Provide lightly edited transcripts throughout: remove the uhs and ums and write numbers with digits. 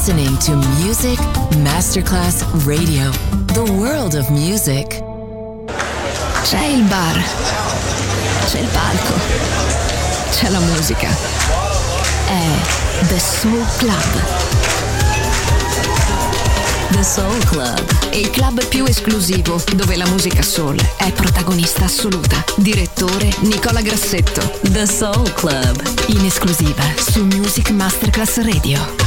listening to Music Masterclass Radio, the world of music. C'è il bar, c'è il palco, c'è la musica. È The Soul Club. The Soul Club, il club più esclusivo dove la musica soul è protagonista assoluta. Direttore Nicola Grassetto. The Soul Club, In esclusiva su Music Masterclass Radio.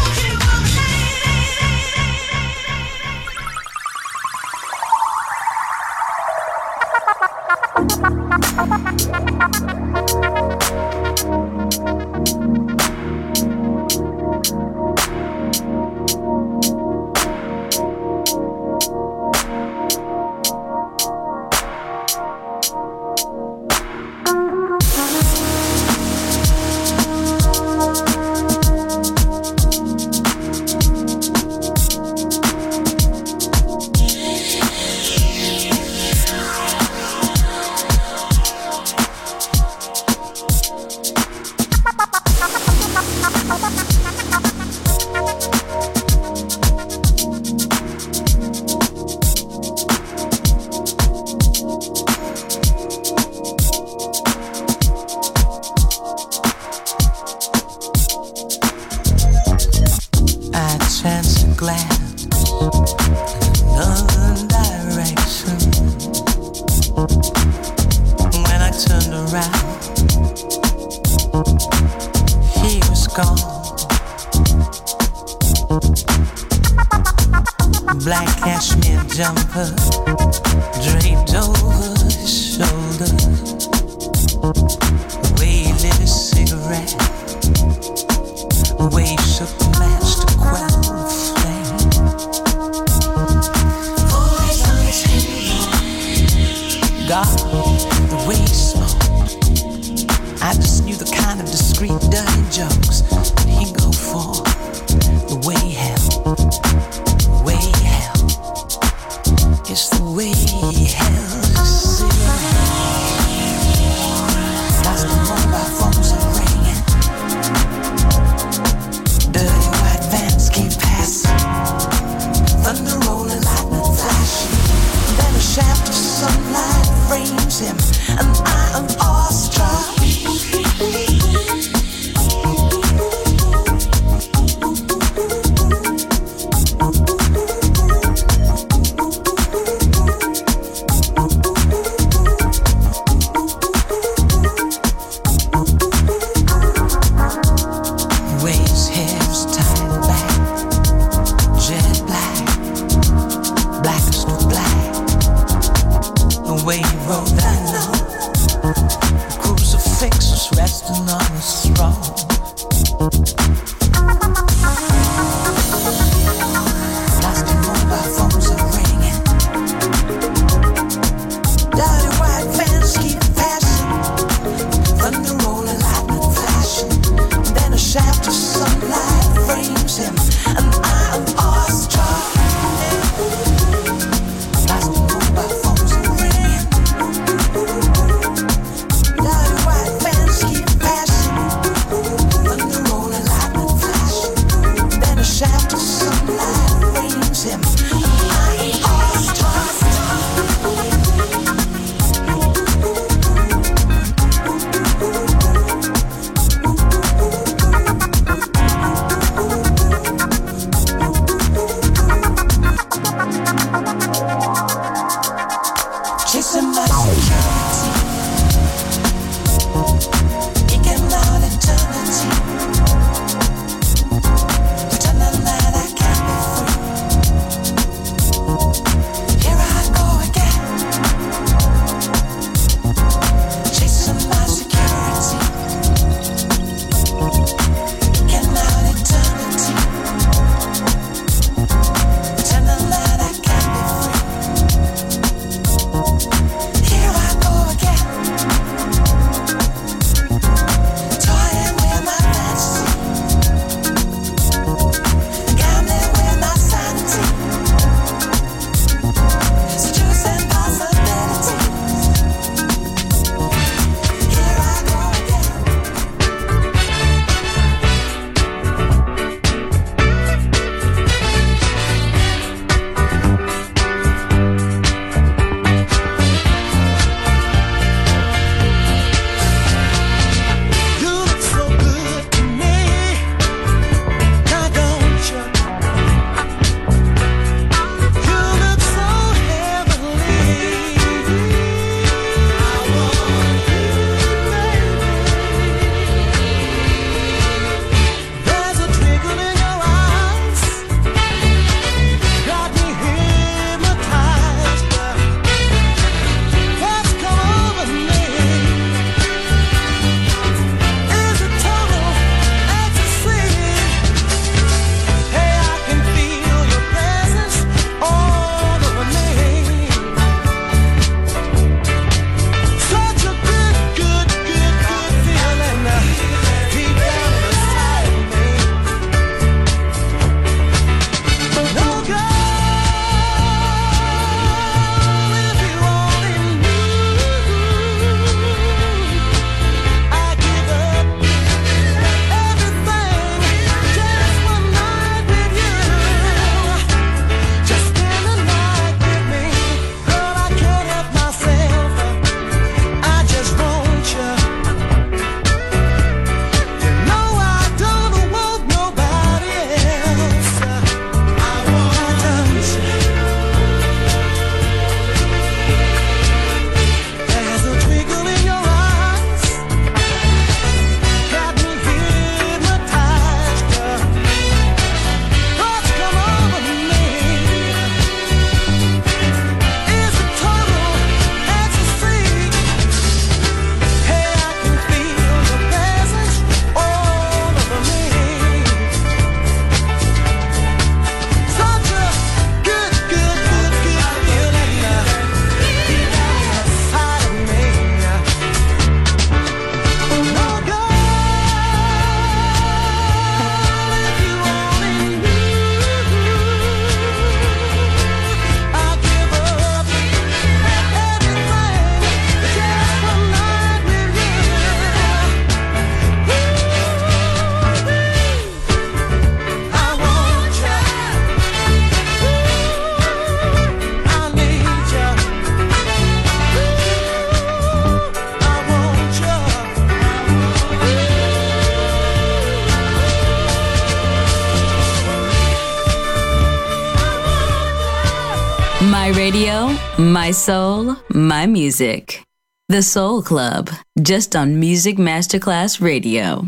My radio, my soul, my music. The Soul Club, just on Music Masterclass Radio.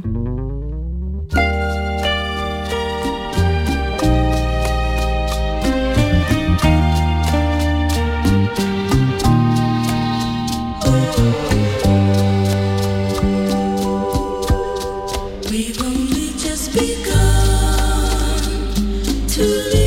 We've only just begun to live.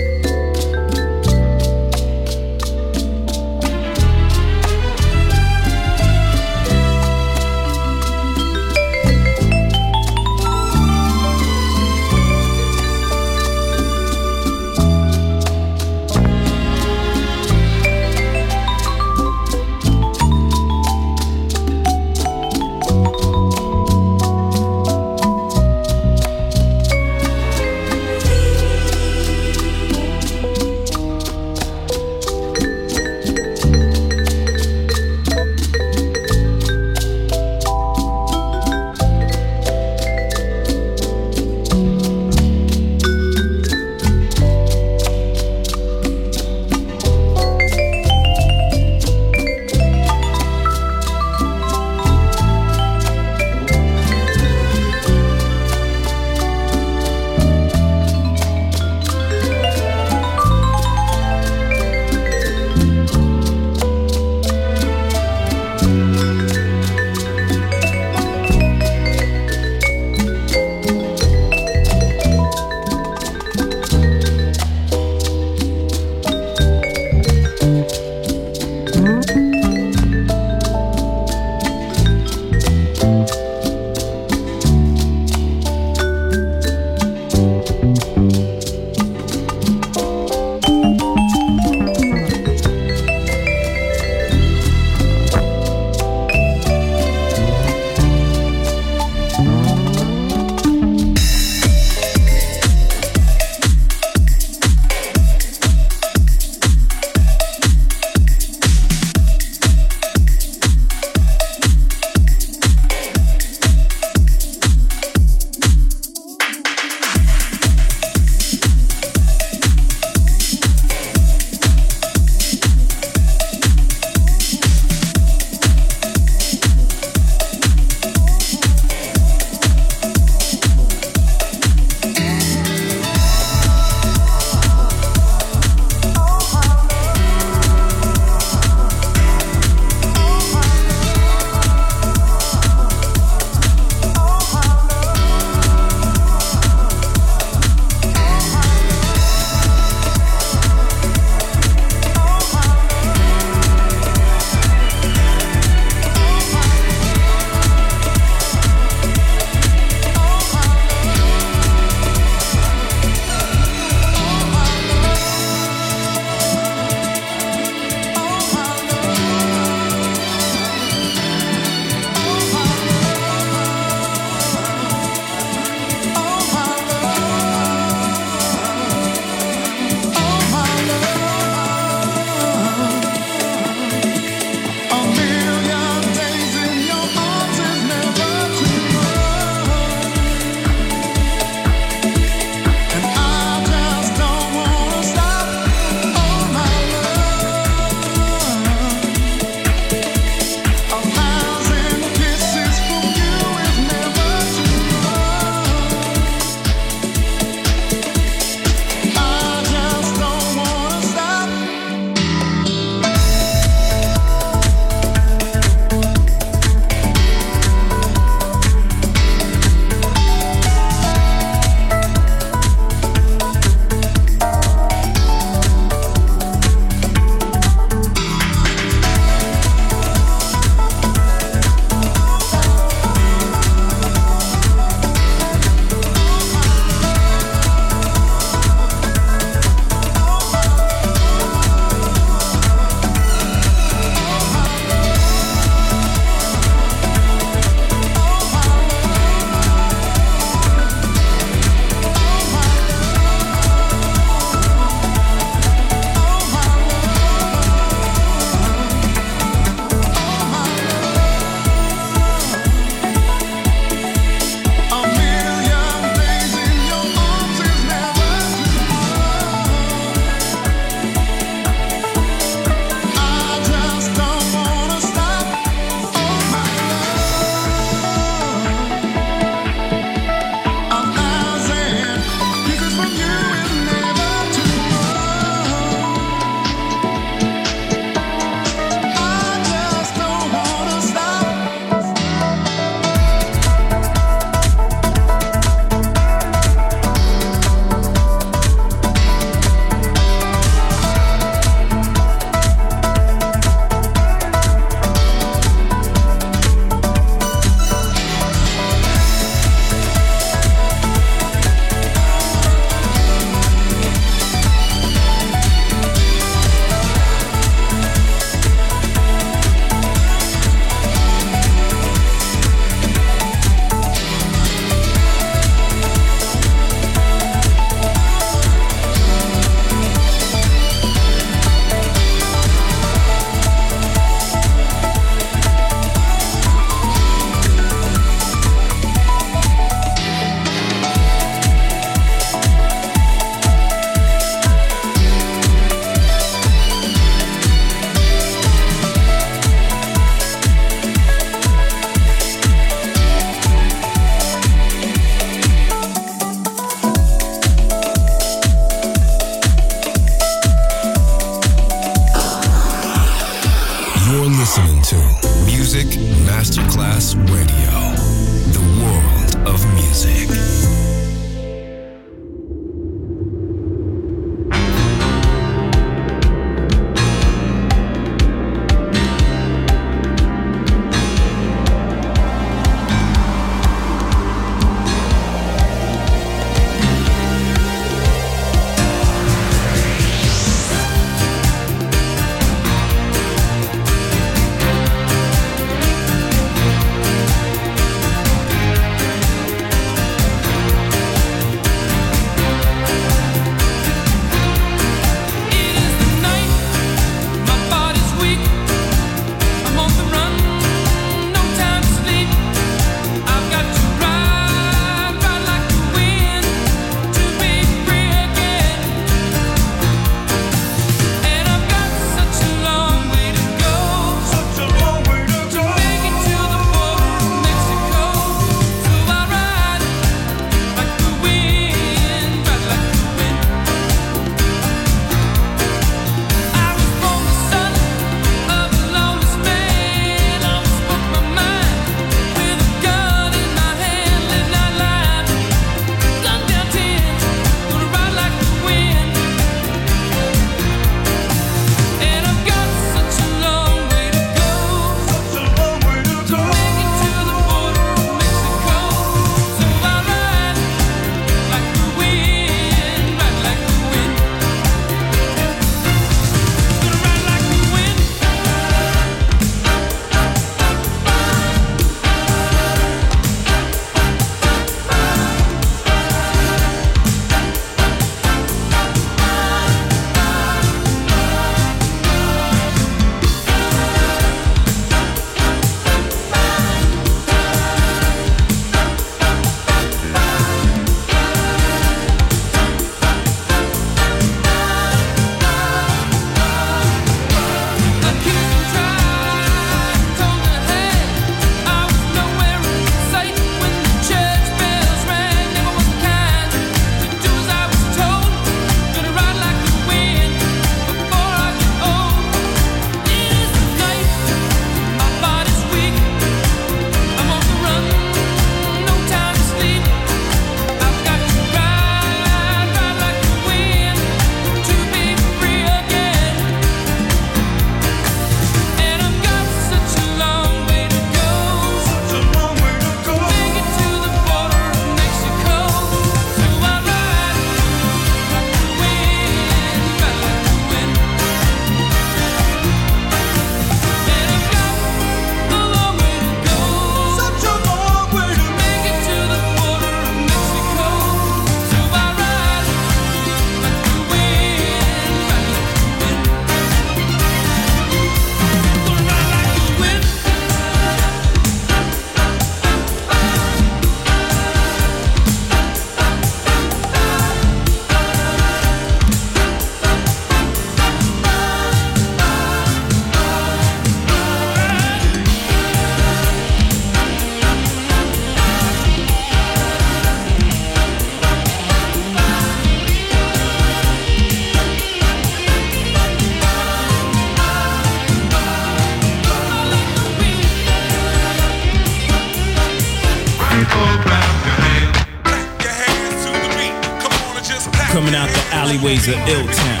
Coming out the alleyways of Ill-Town.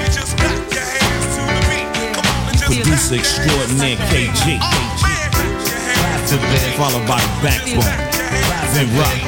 Producer extraordinaire KG. Followed by the Backbone. Then Rock.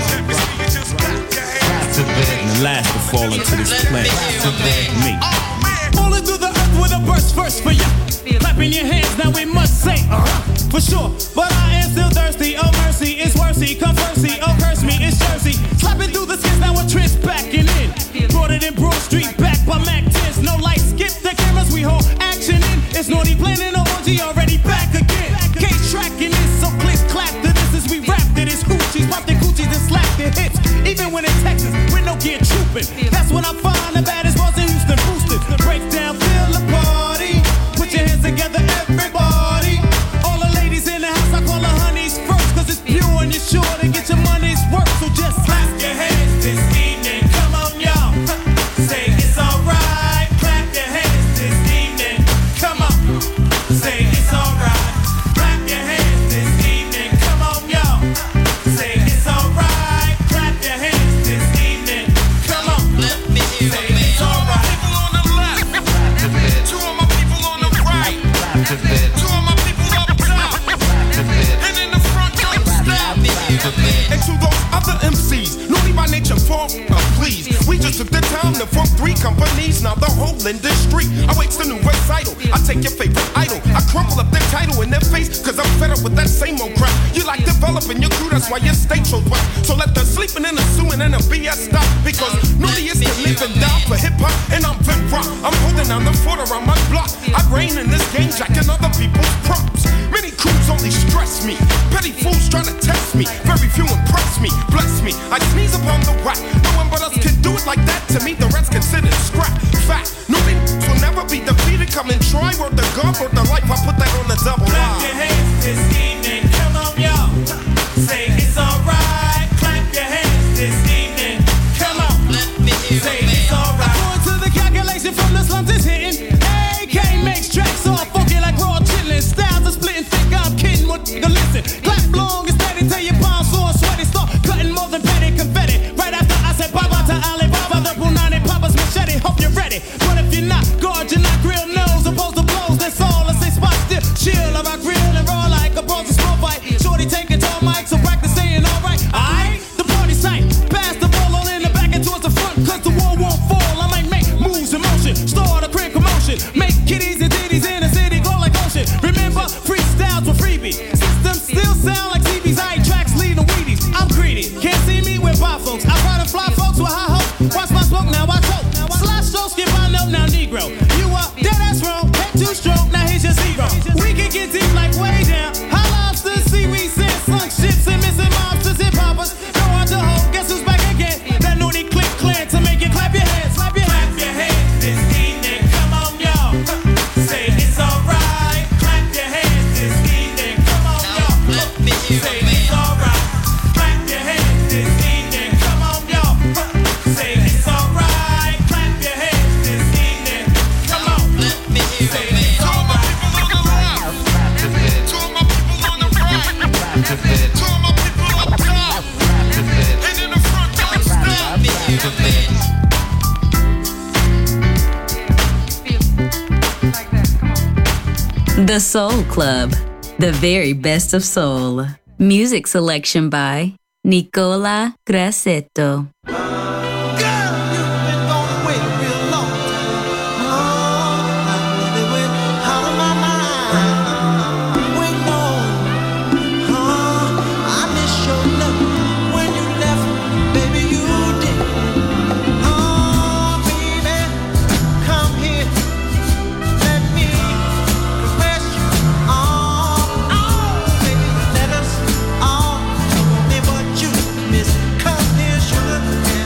And the last to fall into this planet. Me. Falling through the earth with a burst first for ya. Clapping your hands, now we must say, for sure. But I am still thirsty, oh mercy, it's worthy. Come mercy, oh curse me, it's Jersey. Slapping through the skins, now a trench backing in. Brought it in Broad Street, back by Mac 10s. No lights, skip the cameras, we hold action in. It's naughty planning an orgy, already back again. Case tracking this, so click clap to this as we rap to this. Hoochies, pop the coochies and slap the hits. Even when in Texas, with no gear trooping. That's when I find the baddest boys in Houston boosted. Break down, feel the party. Put your hands together, everybody. All the ladies in the house, I call the honeys first. Cause it's pure and you're sure to get your money's worth. So just clap your hands this evening. Come on, y'all. Say it's alright. Clap your hands this evening. Come on. Say it's alright. Clap your hands this evening. Come on, y'all. Say it's alright. Clap your hands this evening. Come on. Say it's alright. People on the left. Two of my people on the right. Two of my people up top. And in the front, don't stop. And to those other MCs, naughty by nature, please. We just took the time to form 3 companies. Now the whole industry awaits the new recital. I take your favorite idol, I crumple up their title in their face, cause I'm fed up with that same old crap. You like developing your crew, that's why your state chose whack. So let the sleeping and assuming and the BS stop, because naughty is to live and die for hip hop, and I'm Vin Rock. I'm holding down the fort around my block. I reign in this game, jacking other people's props. Many crews only stress me. Petty fools trying to test me. Very few impress me. Bless me. I sneeze upon the whack. No one but us can do it like that. To me, the rest considered scrap. Fact. Nobody will never be defeated. Come and try. Word the God, word the life. I put that on the double line. Clap your hands this evening. Come on, y'all. Say it's alright. Clap your hands this evening. Come on. Say it's alright. According to the calculation from the slums, it's hitting. AK makes tracks all funky like raw chillin'. Styles are splitting thick. I'm kidding. What nigga listen? Clap long and steady till your palms sore sweaty. Start cutting more than petty confetti. Right after I said bye bye to Alibaba, the Punani Papa's machete. Hope you're ready. But if you're not, guard your not grill nose. Opposed to blows, that's all. I say spot still. Chill, I rock real and raw like a bronze small fight. Shorty taking tall mic, so practice saying alright. Alright, the party's tight. Pass the ball all in the back and towards the front, cause the wall won't fall. I might make moves in motion. Start a quick commotion. Make kitties and ditties in the city glow like ocean. Remember, freestyles were freebie. Systems still sound like TVs. I ain't tracks leading Wheaties. I'm greedy. Can't see me with bar folks. I ride and fly folks with high hopes. Watch my smoke, now I choke. Slash stroke, skip I know now Negro. You up, dead ass wrong. Head too strong, now here's your zero. We can get deep like way down. High lobsters, seaweed, sand, sunk ships, and missing mobsters, hip hoppers. No hard to hold. Guess who's back again? That naughty click clan to make you clap your hands. Clap your hands. Clap your hands this evening. Come on, y'all. Say it's alright. Clap your hands this evening. Come on, y'all. Say it's alright. Clap your hands this evening. Come on, y'all. Say it's alright. Clap your hands this evening. Come on. Say it's alright. Two of my people on the right. Two of my people up top. And in the front, don't stop. The Soul Club, the very best of soul. Music selection by Nicola Grassetto. Come here, sugar.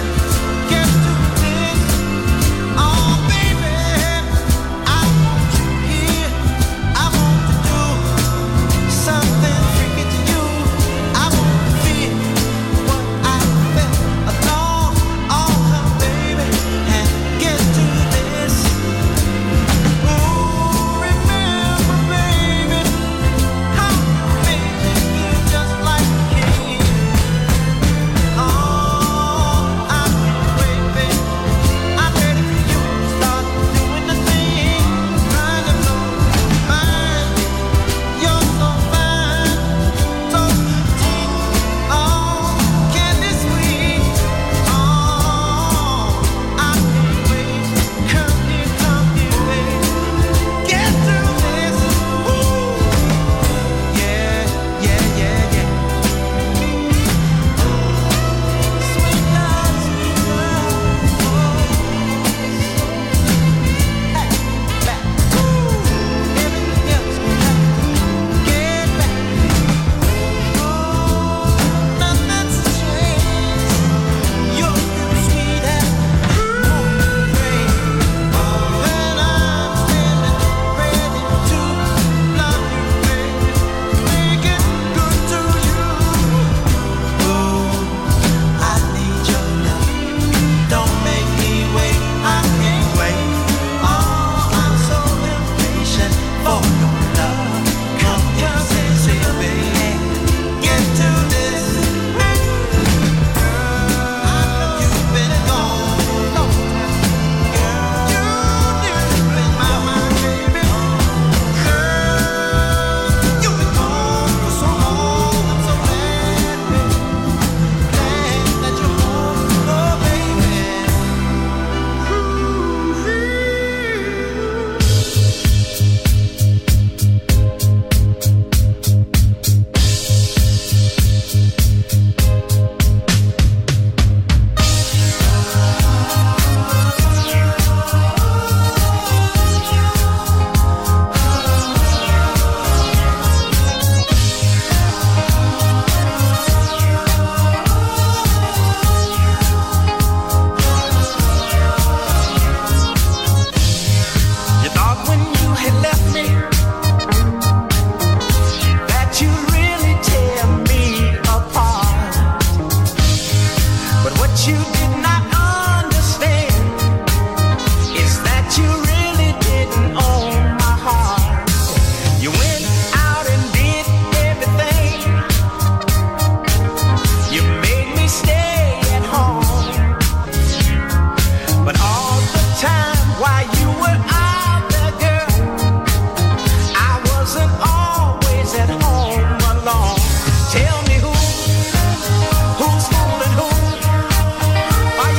But what you did not understand is that you really didn't own my heart. You went out and did everything. You made me stay at home. But all the time while you were out there, girl, I wasn't always at home alone. Tell me who's fooling who? Are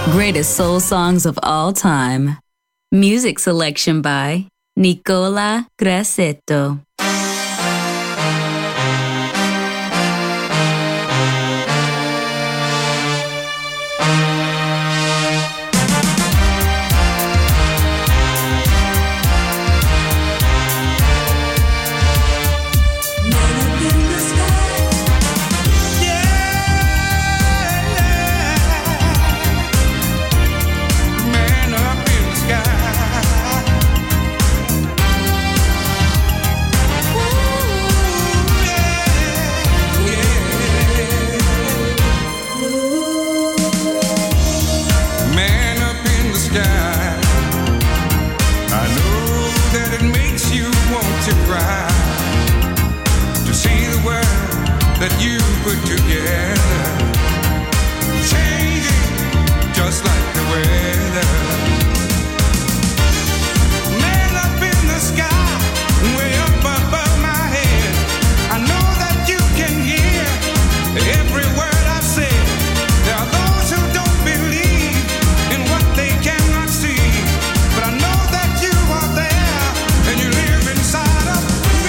Greatest soul songs of all time. Music selection by Nicola Grassetto. That you put together, changing just like the weather. Man up in the sky, way up above my head, I know that you can hear every word I've said. There are those who don't believe in what they cannot see, but I know that you are there and you live inside of me.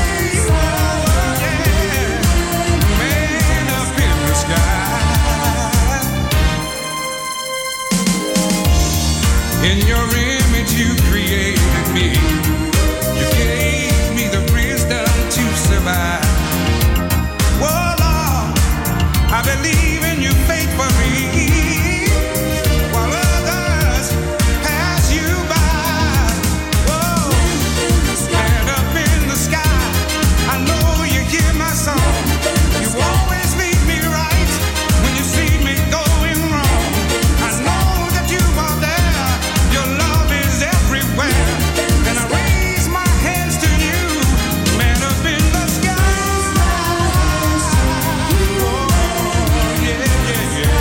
In your image you created me. You gave me the wisdom to survive. Oh Lord, I believe in your faith for me, while others pass you by. Oh, and up in the sky, I know you hear my song. You always lead me right when you see me going wrong. I know that you are there. Your love is everywhere, and I raise my hands to you, man up in the sky. Oh, yeah, yeah, yeah.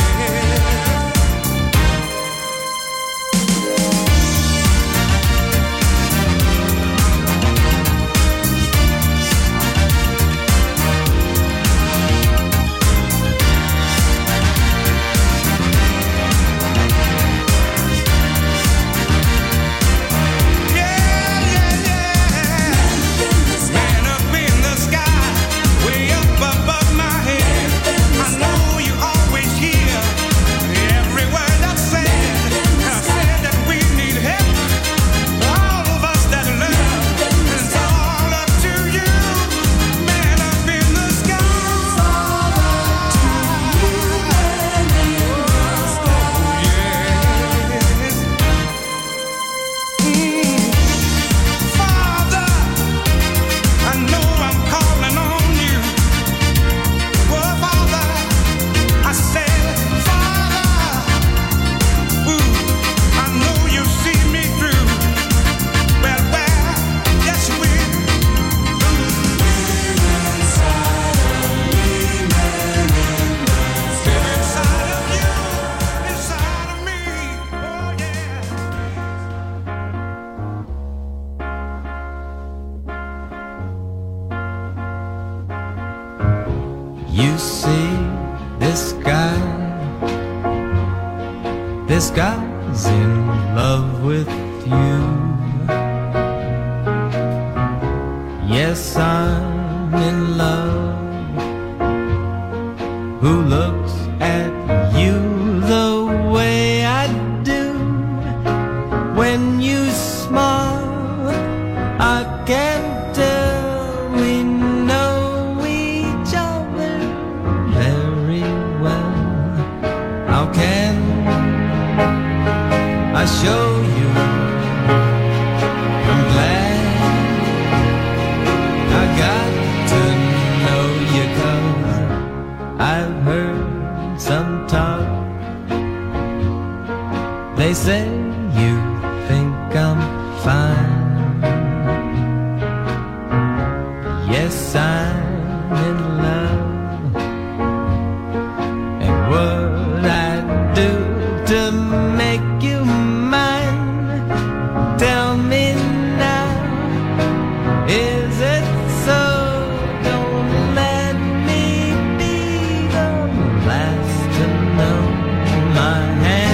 Man up in the sky, way up above my head. I know you always hear every word I've said. I said that we need help, all of us that love. It's all up to you, man up in the sky. Father, I know I'm calling on you. Oh, Father, I said, Father, I know you see me through. Well, yes you will. Live inside of you, inside of me. Oh, yeah. You see this guy's in love with you. Yes, I'm in love. Who looks at you the way I do? When you smile, I can tell we know each other very well. How can I show you? I'm glad I got to know you, 'cause I've heard some talk. They say you think I'm fine. Yes, I'm in love. And what I do to make you mine, tell me now, is it so? Don't let me be the last to know. My hand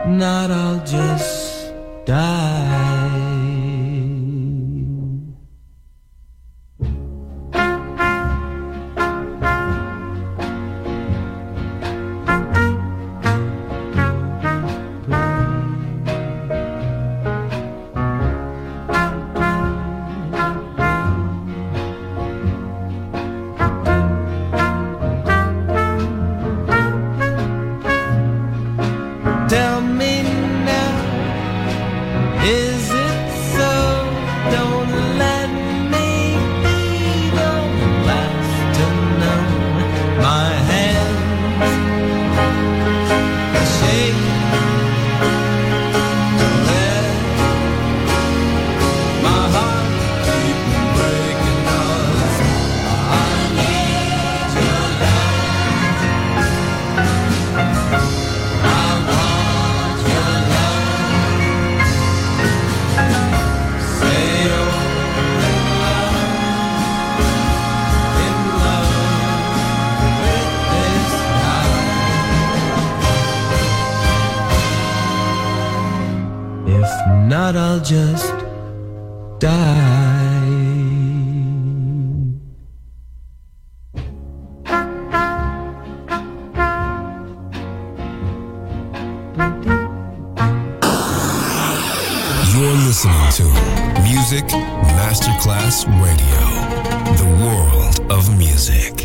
not, I'll just die. Tell me now, is it so? Don't let me be the last to know. My hands shake, let my heart keep breaking, 'cause I need your love. I want your love. Say you're in love with this night. If not, I'll just die. You're listening to Music Masterclass Radio, the world of music.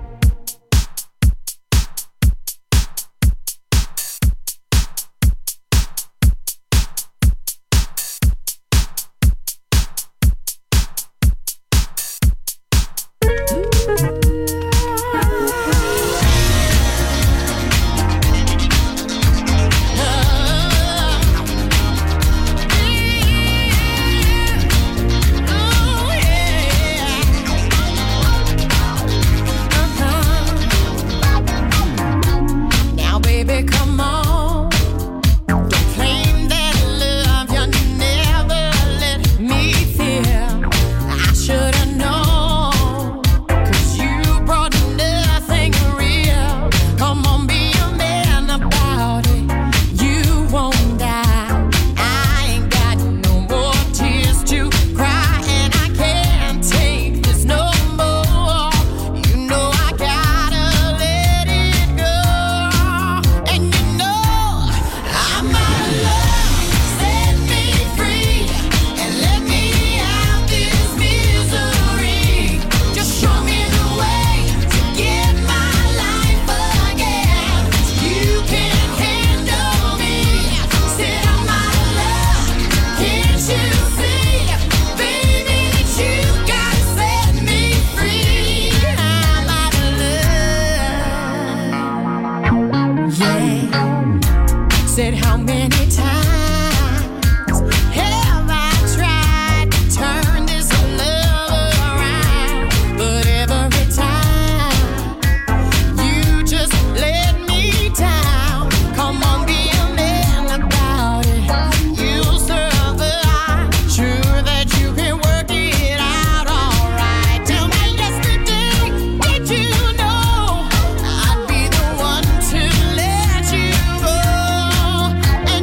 Now, baby, come on. Don't claim that love you never let me feel. I should've known, 'cause you brought nothing real. Come on, be a man about it. You won't die. I ain't got no more tears to cry, and I can't take this no more. You know I gotta let it go. And you know I'm out of love. Set me free and let me out this misery. Just show me the way to get my life again. You can handle me. Said I'm out of love. Can't you see, baby, that you gotta set me free? I'm out of love. Yeah. Said how many times have I tried to turn this love around? But every time you just let me down. Come on, be a man about it. You'll survive. Sure that you can work it out alright. Tell me yesterday, did you know I'd be the one to let you go?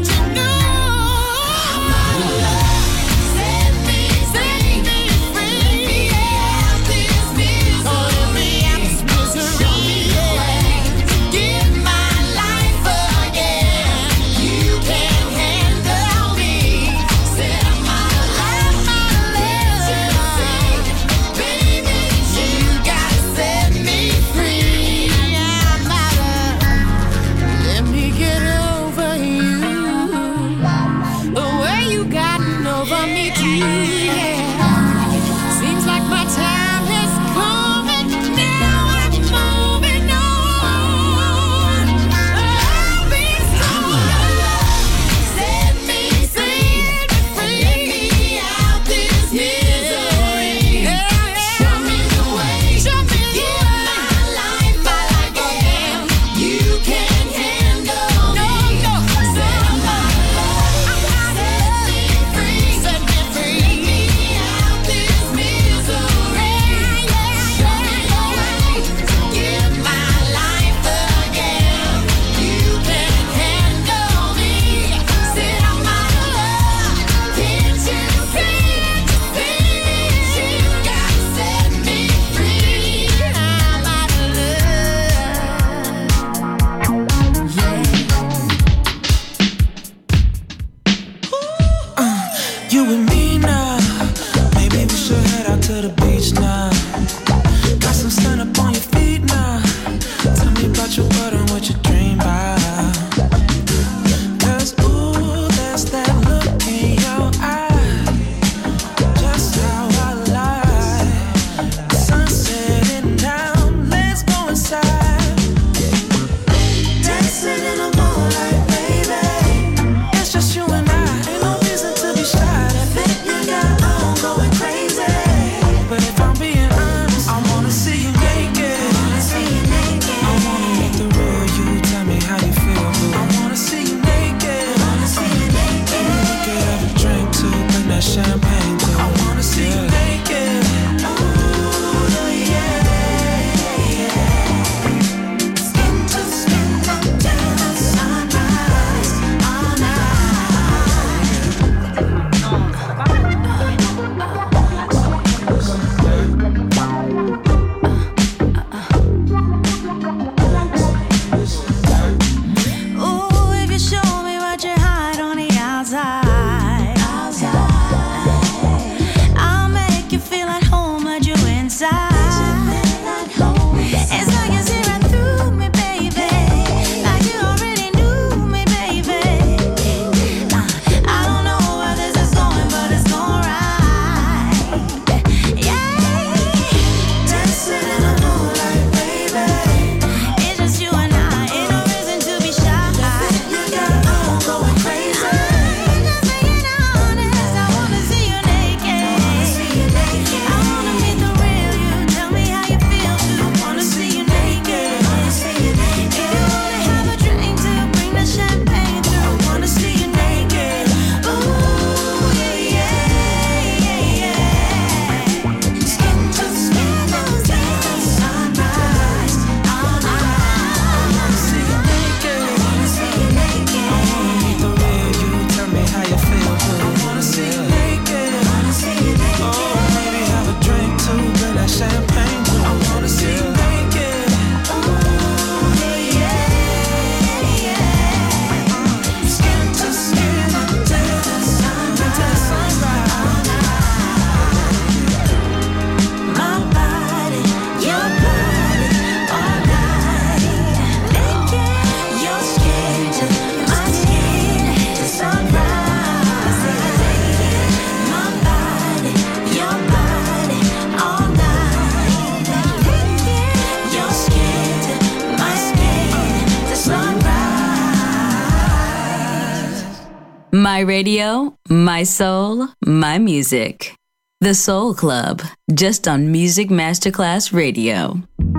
My radio, my soul, my music. The Soul Club, just on Music Masterclass Radio.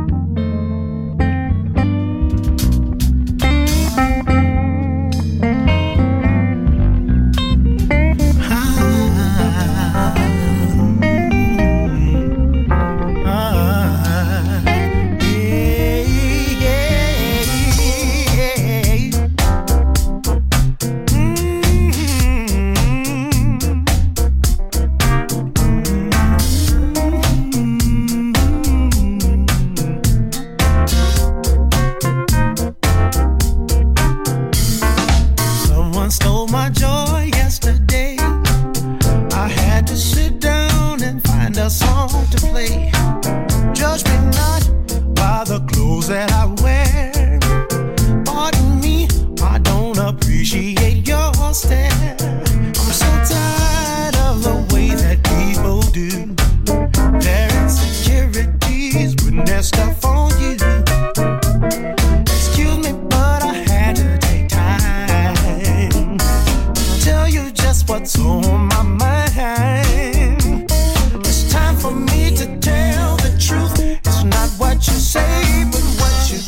What's on my mind? It's time for me to tell the truth. It's not what you say, but what you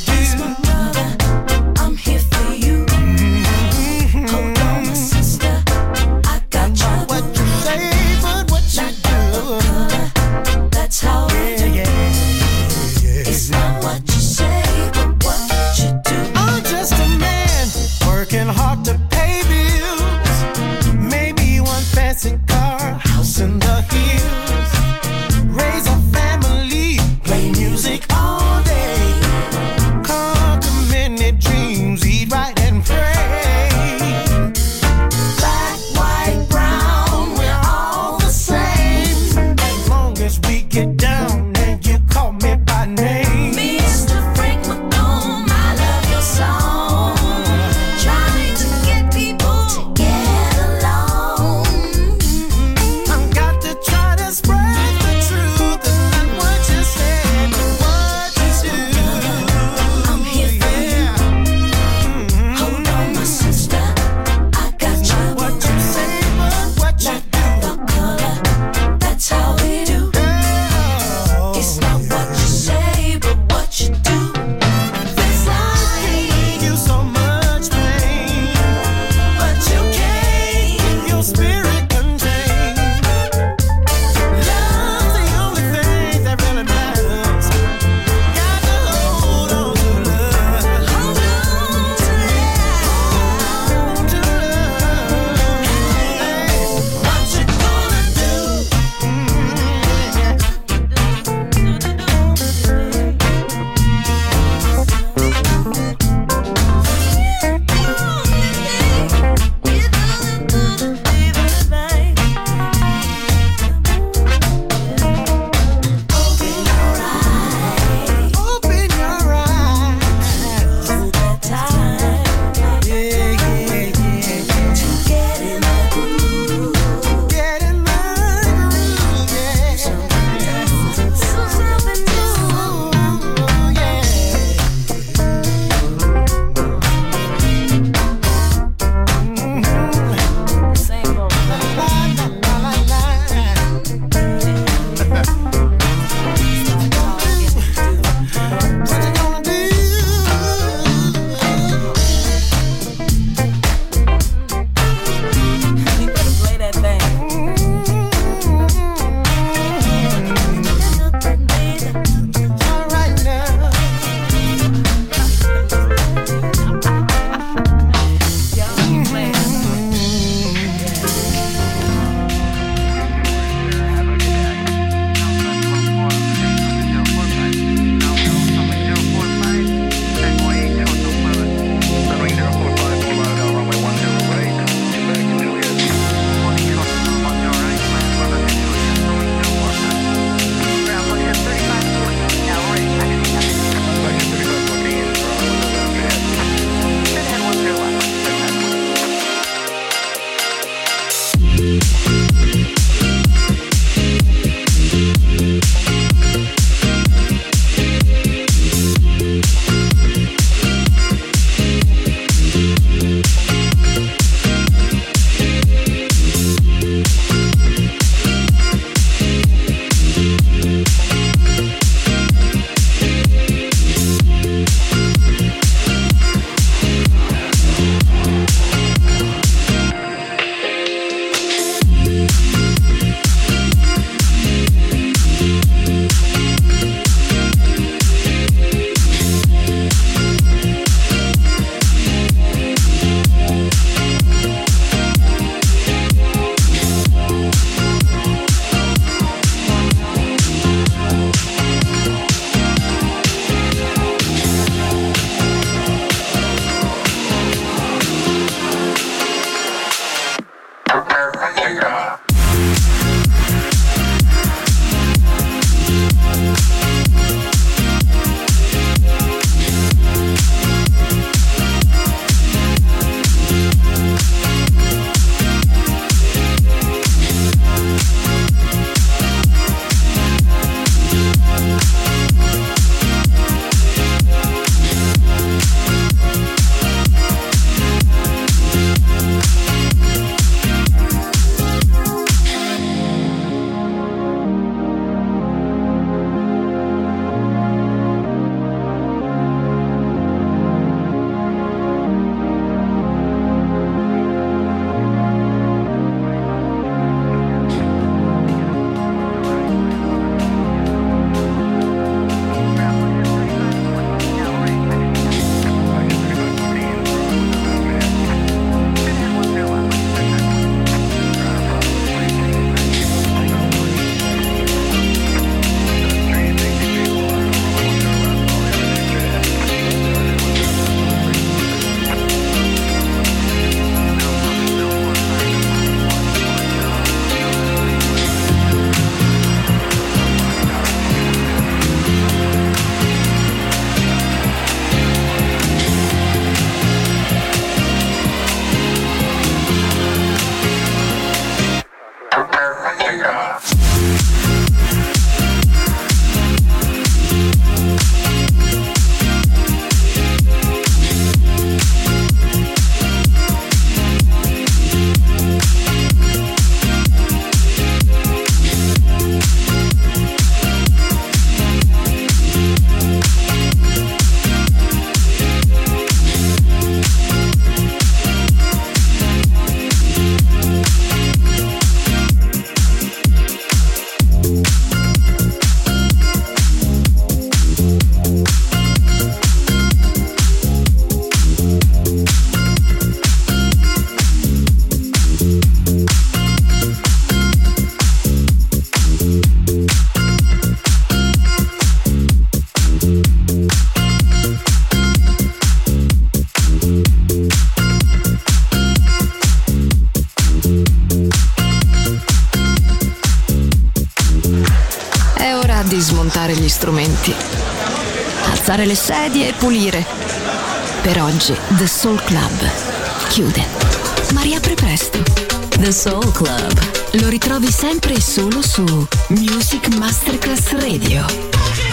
sistemare gli strumenti, alzare le sedie e pulire. Per oggi The Soul Club chiude, ma riapre presto. The Soul Club. Lo ritrovi sempre e solo su Music Masterclass Radio.